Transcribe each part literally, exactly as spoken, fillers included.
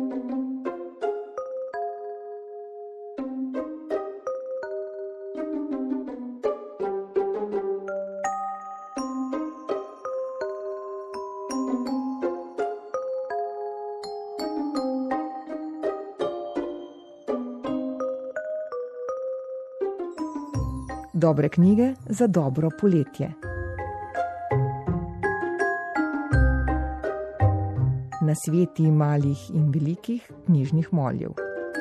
Dobre knjige za dobro poletje. Nasveti malih in velikih knjižnih moljev.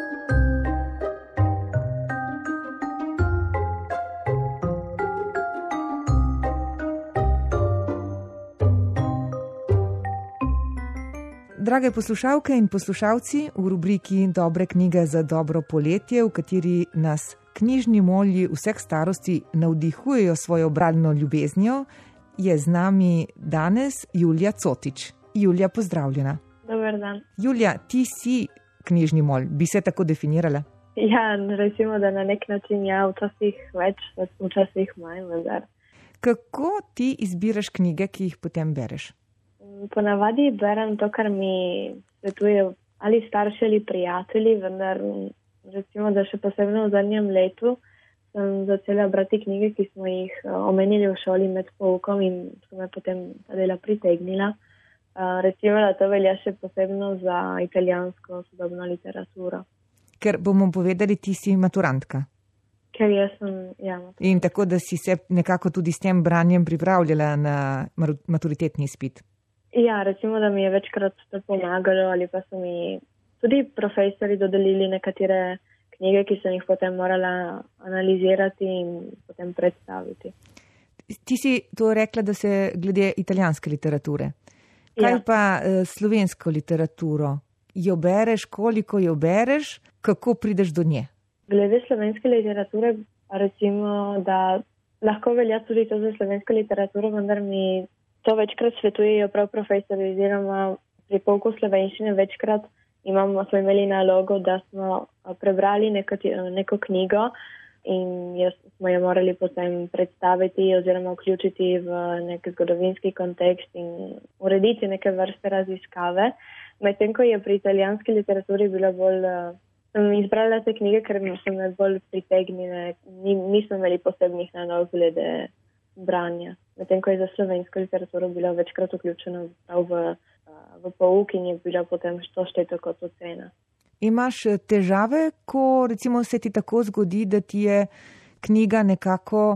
Drage poslušalke in poslušalci, v rubriki Dobre knjige za dobro poletje, v kateri nas knjižni molji vseh starosti navdihujejo svojo bralno ljubeznijo, je z nami danes Julija Cotič. Julija, pozdravljena. Dober dan. Julija, ti si knjižni molj, bi se tako definirala? Ja, recimo, da na nek način ja, včasih več, včasih manj, vendar. Kako ti izbiraš knjige, ki jih potem bereš? Ponavadi berem to, kar mi svetujejo ali starši ali prijatelji, vendar recimo, da še posebno v zadnjem letu sem začela brati knjige, ki smo jih omenili v šoli med poukom in so me potem ta dela pritegnila. Recimo, da to velja še posebno za italijansko sodobno literaturo. Ker bomo povedali, ti si maturantka. Ker jaz sem, ja. Maturantka. In tako, da si se nekako tudi s tem branjem pripravljala na maturitetni izpit. Ja, recimo, da mi je večkrat to pomagalo ali pa so mi tudi profesori dodelili nekatere knjige, ki sem jih potem morala analizirati in potem predstaviti. Ti si to rekla, da se glede italijanske literature. Kaj ja. Pa uh, slovensko literaturo? Jo bereš, koliko jo bereš, kako prideš do nje? Glede slovenske literature, recimo, da lahko velja tudi to za slovensko literaturo, vendar mi to večkrat svetujejo prav profesori, oziroma pri pouku slovenščine večkrat imamo, smo imeli nalogo, da smo prebrali neko, neko knjigo in jo, smo jo morali potem predstaviti oziroma vključiti v nek zgodovinski kontekst in urediti neke vrste raziskave. Medtem ko je pri italijanski literaturi bilo bolj, sem izbrala te knjige, ker so me bolj pritegnile, nismo imeli posebnih nalog glede branja. Medtem ko je za slovensko literaturo bilo večkrat vključeno v, v pouk in je bilo potem to šteto kot ocena. Imaš težave, ko recimo se ti tako zgodi, da ti je knjiga nekako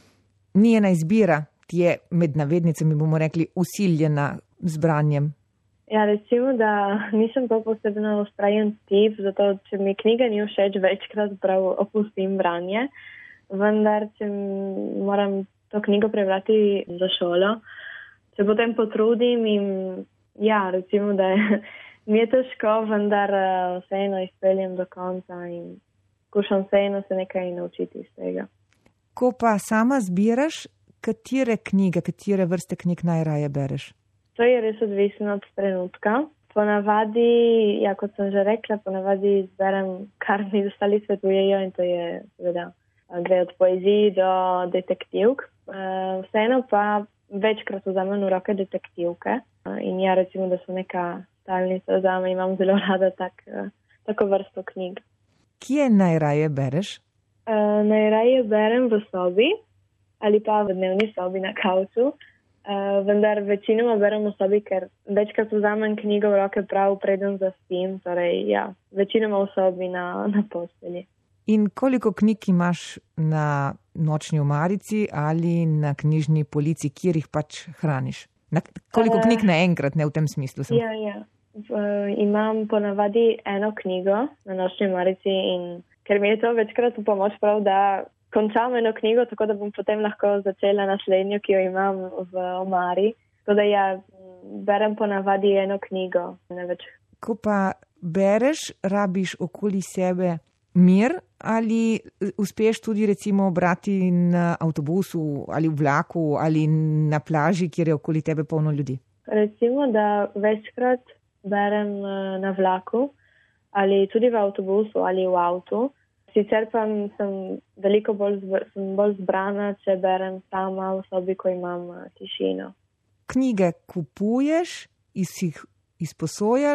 ni ena izbira, ti je med navednicami, bomo rekli, usiljena z branjem? Ja, recimo, da nisem to posebno vztrajen tip, zato če mi knjiga ni všeč, večkrat prav opustim branje, vendar če moram to knjigo prebrati za šolo, se potem potrudim in ja, recimo, da je, mi je težko, vendar vseeno izpeljem do konca in skušam vseeno se nekaj naučiti iz tega. Ko pa sama zbiraš, katere knjige, katere vrste knjig najraje bereš? To je res odvisno od trenutka. Ponavadi, ja, kot sem že rekla, ponavadi izberem, kar mi ostali svetujejo in to je seveda gre od poeziji do detektivk. Vseeno pa večkrat vzamem v roke detektivke in ja, recimo, da so neka stalnica zame, imam zelo rada tak, tako vrsto knjig. Kje najraje bereš? Uh, najraje berem v sobi ali pa v dnevni sobi na kavču, uh, vendar večinoma berem v sobi, ker večkrat vzamem knjigo v roke prav preden zaspim, torej ja, večinoma v sobi na, na postelji. In koliko knjig imaš na nočni omarici ali na knjižni polici, kjer jih pač hraniš? Na, koliko uh, knjig naenkrat, ne v tem smislu? Sem... Ja, ja. Uh, imam ponavadi eno knjigo na nočni omarici in ker mi je to večkrat v pomoč prav, da končam eno knjigo, tako da bom potem lahko začela naslednjo, ki jo imam v omari. Tako da ja, berem ponavadi eno knjigo, ne več. Ko pa bereš, rabiš okoli sebe mir ali uspeš tudi recimo brati na avtobusu ali v vlaku ali na plaži, kjer je okoli tebe polno ljudi? Recimo, da večkrat berem na vlaku ali tudi v avtobusu ali v avtu. Sicer pa sem veliko bolj, sem bolj zbrana, če berem sama v sobi, ko imam tišino. Knjige kupuješ, jih izposojaš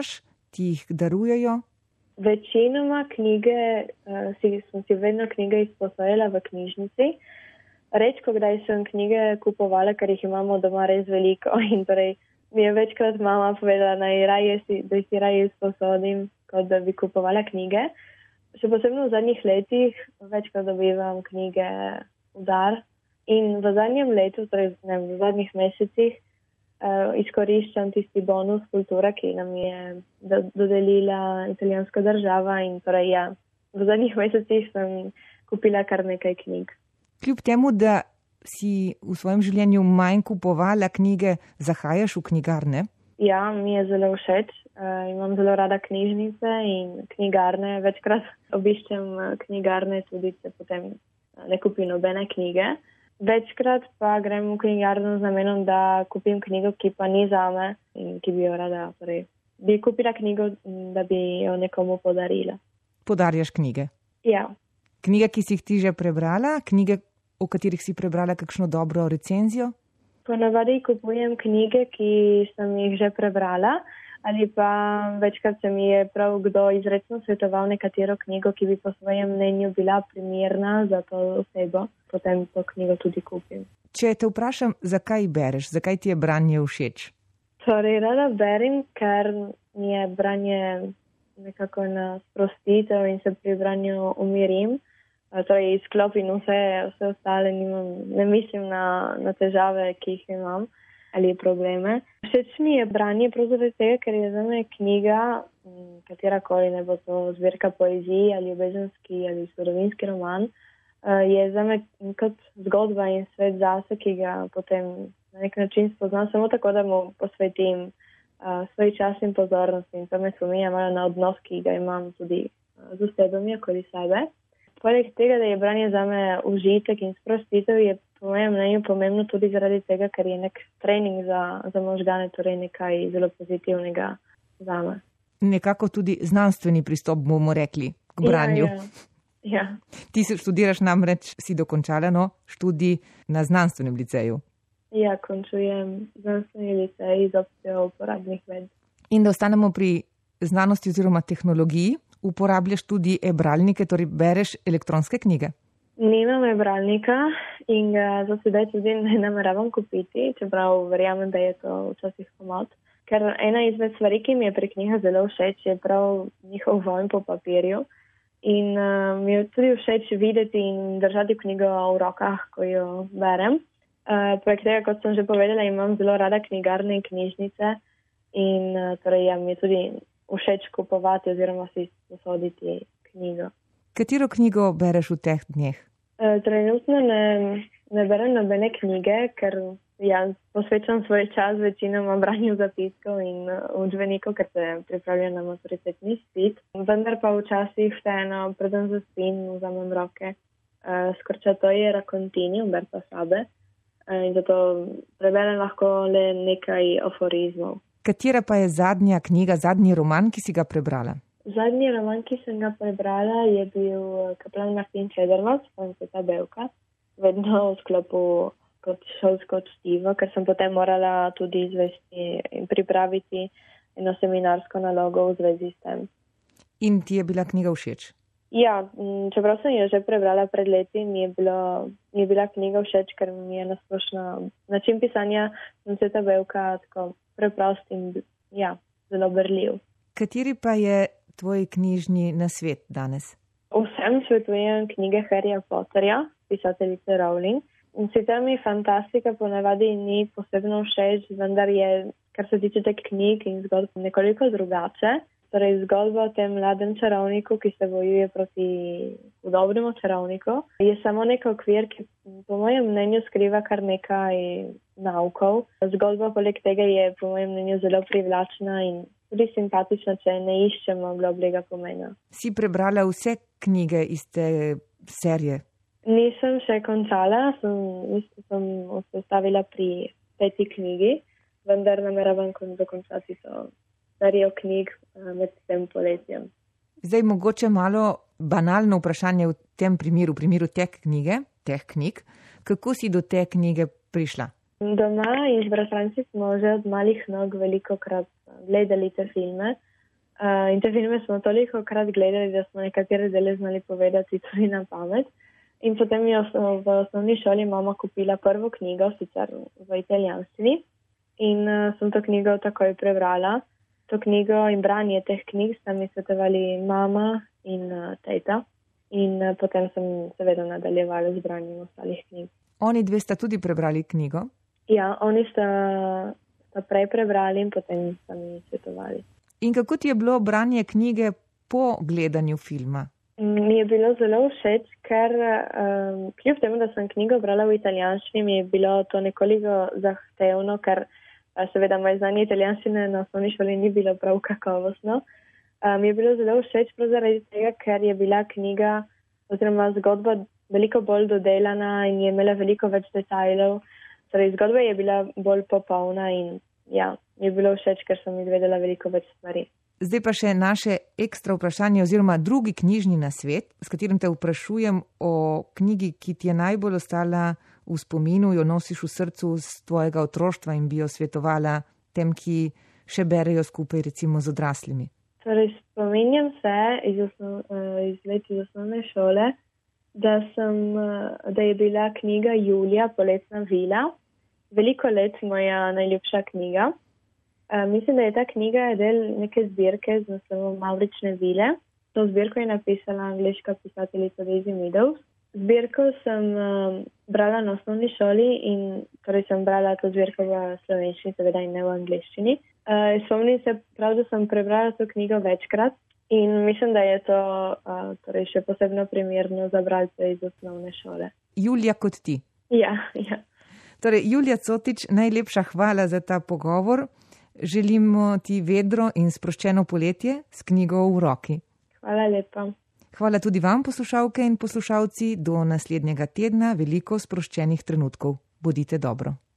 ti jih darujejo? Večinoma knjige, uh, si, sem si vedno knjige izposojila v knjižnici. Redko kdaj sem knjige kupovala, ker jih imamo doma res veliko in torej mi je večkrat mama povedala, naj raje si, da si raje izposodim, kot da bi kupovala knjige. Še posebno v zadnjih letih večkrat dobivam knjige v dar in v zadnjem letu, torej ne, v zadnjih mesecih, uh, izkoriščam tisti bonus kultura, ki nam je do, dodelila italijanska država in torej ja, v zadnjih mesecih sem kupila kar nekaj knjig. Kljub temu, da si v svojem življenju manj kupovala knjige, zahajaš v knjigarne? Ja, mi je zelo všeč. Uh, imam zelo rada knjižnice in knjigarne. Večkrat obiščem knjigarne, tudi če potem ne kupim nobene knjige. Večkrat pa grem v knjigarno z namenom, da kupim knjigo, ki pa ni zame in ki bi jo rada. Torej, bi kupila knjigo, da bi jo nekomu podarila. Podarjaš knjige? Ja. Knjige, ki si jih ti že prebrala? Knjige, o katerih si prebrala kakšno dobro recenzijo? Ponavadi kupujem knjige, ki sem jih že prebrala, ali pa večkrat se mi je prav kdo izrecno svetoval nekatero knjigo, ki bi po svojem mnenju bila primerna za to osebo. Potem to knjigo tudi kupim. Če te vprašam, zakaj bereš, zakaj ti je branje všeč? Torej, rada berem, ker mi je branje nekako na sprostitev in se pri branju umirim. Torej, izklopim vse, vse ostale, nimam, ne mislim na, na težave, ki jih imam ali probleme. Všeč mi je branje pravzaprav tega, ker je za me knjiga, katerakoli, ne bo to zbirka poezije ali ljubezenski ali zgodovinski roman, je za me kot zgodba in svet zase, ki ga potem na nek način spoznam samo tako, da mu posvetim uh, svoj čas in pozornost in to me spominja malo na odnos, ki ga imam tudi uh, z osebami okoli sebe. Poleg tega, da je branje za me užitek in sprostitev, je po mojem mnenju pomembno tudi zaradi tega, ker je nek trening za, za možgane, torej nekaj zelo pozitivnega za me. Nekako tudi znanstveni pristop, bomo rekli, k branju. Ja, ja. Ja. Ti se študiraš namreč, si dokončala no, študij na znanstvenem liceju. Ja, končujem znanstveni licej z opcijo uporabnih ved. In da ostanemo pri znanosti oziroma tehnologiji, uporabljaš tudi e-bralnike, torej bereš elektronske knjige? Nimam e-bralnika in ga za sedaj tudi ne nameravam kupiti, čeprav verjamem, da je to včasih pomoč. Ker ena izmed stvari, ki mi je pri knjigah zelo všeč, je prav njihov vonj po papirju. In uh, mi je tudi všeč videti in držati knjigo v rokah, ko jo berem. Uh, poleg tega, kot sem že povedala, imam zelo rada knjigarne in knjižnice in uh, torej ja, mi je tudi všeč kupovati oziroma si posoditi knjigo. Katero knjigo bereš v teh dneh? Uh, trenutno ne, ne berem nobene knjige, ker ja, posvečam svoj čas večinoma branju zapiskov in uh, učbenikov, ker se pripravljam na maturitetni izpit. Vendar pa včasih vseeno, preden zaspim, vzamem roke uh, Scorciatoie Raccontini Umberta Sabe uh, in zato preberem lahko le nekaj aforizmov. Katera pa je zadnja knjiga, zadnji roman, ki si ga prebrala? Zadnji roman, ki sem ga prebrala, je bil Kaplan Martin Čedermac, Franceta Bevka, vedno v sklopu kot šolsko čtivo, ker sem potem morala tudi izvesti in pripraviti eno seminarsko nalogo v zvezi s tem. In ti je bila knjiga všeč? Ja, čeprav sem jo že prebrala pred leti, mi je, bilo, mi je bila knjiga všeč, ker mi je nasplošno način pisanja Franceta Bevka tako preprost in ja, zelo berljiv. Kateri pa je tvoj knjižni nasvet danes? Vsem svetujem knjige Harryja Potterja, pisateljice Rowling. In sicer mi fantastika ponavadi ni posebno všeč, vendar je, kar se tiče teh knjig in zgodb, nekoliko drugače. Torej, zgodba o tem mladem čarovniku, ki se bojuje proti hudobnemu čarovniku, je samo nek okvir, ki po mojem mnenju skriva kar nekaj naukov. Zgodba poleg tega je po mojem mnenju zelo privlačna in tudi simpatična, če ne iščemo globljega pomena. Si prebrala vse knjige iz te serije? Nisem še končala, sem, sem se stavila pri peti knjigi, vendar nameravam dokončati to serijo knjig med tem poletjem. Zdaj mogoče malo banalno vprašanje v tem primeru, v primeru te knjige, teh knjig. Kako si do te knjige prišla? Doma in z bratranci smo že od malih nog veliko krat gledali te filme. Uh, in te filme smo toliko krat gledali, da smo nekatere dele znali povedati tudi na pamet. In potem je v osnovni šoli mama kupila prvo knjigo, sicer v italijanščini. In uh, sem to knjigo takoj prebrala. To knjigo in branje teh knjig sta mi svetovali mama in uh, teta. In uh, potem sem seveda nadaljevala z branjem ostalih knjig. Oni dve sta tudi prebrali knjigo? Ja, oni sta, sta prej prebrali in potem sta mi svetovali. In kako ti je bilo branje knjige po gledanju filma? Mi je bilo zelo všeč, ker um, kljub temu, da sem knjigo brala v italijanščini, mi je bilo to nekoliko zahtevno, ker uh, seveda moje znanje italijanščine na osnovni šoli ni bilo prav kakovostno. Mi um, je bilo zelo všeč prav zaradi tega, ker je bila knjiga oziroma zgodba veliko bolj dodelana in je imela veliko več detajlov. Torej, zgodba je bila bolj popolna in ja, mi je bilo všeč, ker sem izvedela veliko več stvari. Zdaj pa še naše ekstra vprašanje oziroma drugi knjižni nasvet, s katerim te vprašujem o knjigi, ki ti je najbolj ostala v spominu, jo nosiš v srcu z tvojega otroštva in bi jo svetovala tem, ki še berejo skupaj recimo z odraslimi. Torej, spominjam se iz, osnov, iz let iz osnovne šole, da, sem, da je bila knjiga Julija, Poletna vila. Veliko let moja najljubša knjiga. Uh, mislim, da je ta knjiga del neke zbirke z naslovom Mavrične vile. To zbirko je napisala angleška pisateljica Daisy Meadows. Zbirko sem uh, brala na osnovni šoli in torej sem brala to zbirko v slovenščini, seveda in ne v angleščini. Uh, spomnim se prav, da sem prebrala to knjigo večkrat in mislim, da je to uh, torej še posebno primerno za bralce iz osnovne šole. Julija kot ti. Ja, ja. Torej, Julija Cotič, najlepša hvala za ta pogovor. Želimo ti vedro in sproščeno poletje s knjigo v roki. Hvala lepa. Hvala tudi vam, poslušalke in poslušalci. Do naslednjega tedna veliko sproščenih trenutkov. Bodite dobro.